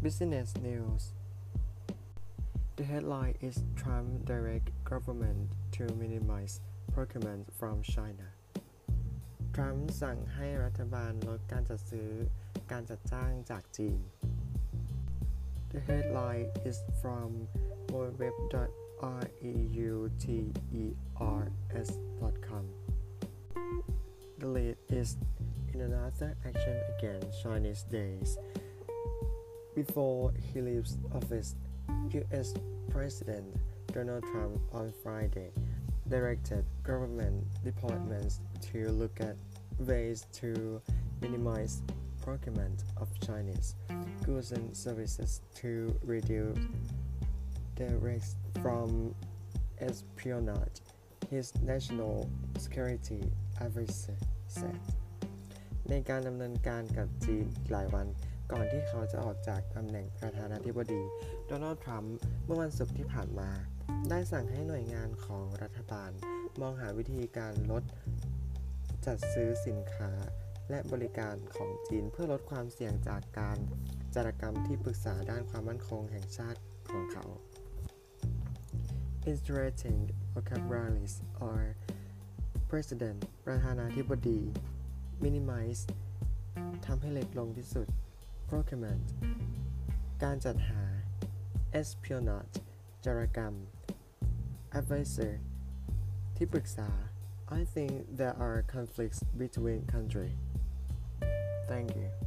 Business News. The headline is Trump directs government to minimize procurement from China. ทรัมป์สั่งให้รัฐบาลลดการจัดซื้อการจัดจ้างจากจีน The headline is from www.reuters.com. The lead is in another action against Chinese days. Before he leaves office, U.S. President Donald Trump on Friday directed government departments to look at ways to minimize procurement of Chinese goods and services to reduce the risk from espionage, his national security advisor said. ในการดำเนินการกับจีนหลายวันก่อนที่เขาจะออกจากตำแหน่งประธานาธิบดีโดนัลด์ทรัมป์เมื่อวันศุกร์ที่ผ่านมาได้สั่งให้หน่วยงานของรัฐบาลมองหาวิธีการลดจัดซื้อสินค้าและบริการของจีนเพื่อลดความเสี่ยงจากการจารกรรมที่ปรึกษาด้านความมั่นคงแห่งชาติของเขา Interesting vocabularies are President ประธานาธิบดี Minimize ทำให้เล็กลงที่สุด Procurement การจัดหา Espionage จารกรรม Advisor ที่ปรึกษา I think there are conflicts between countries. Thank you.